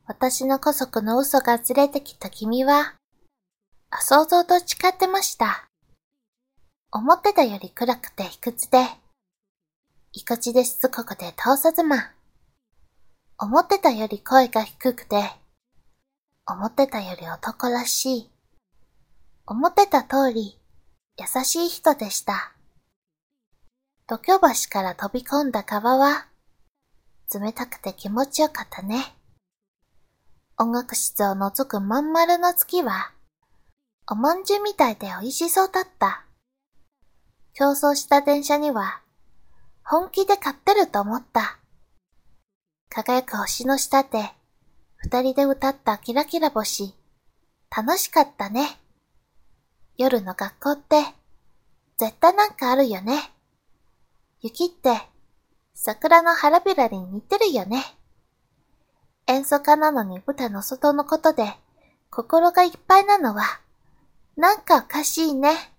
私の姑息の嘘がずれてきた君は、想像と違ってました。思ってたより暗くて卑屈で、意固地でしつこくて通さずま。思ってたより声が低くて、思ってたより男らしい。思ってた通り、優しい人でした。度胸橋から飛び込んだ川は、冷たくて気持ちよかったね。音楽室を覗くまん丸の月は、おまんじゅうみたいで美味しそうだった。競争した電車には、本気で買ってると思った。輝く星の下で、二人で歌ったキラキラ星、楽しかったね。夜の学校って、絶対なんかあるよね。雪って、桜の花びらに似てるよね。演奏家なのに舞台の外のことで、心がいっぱいなのは、なんかおかしいね。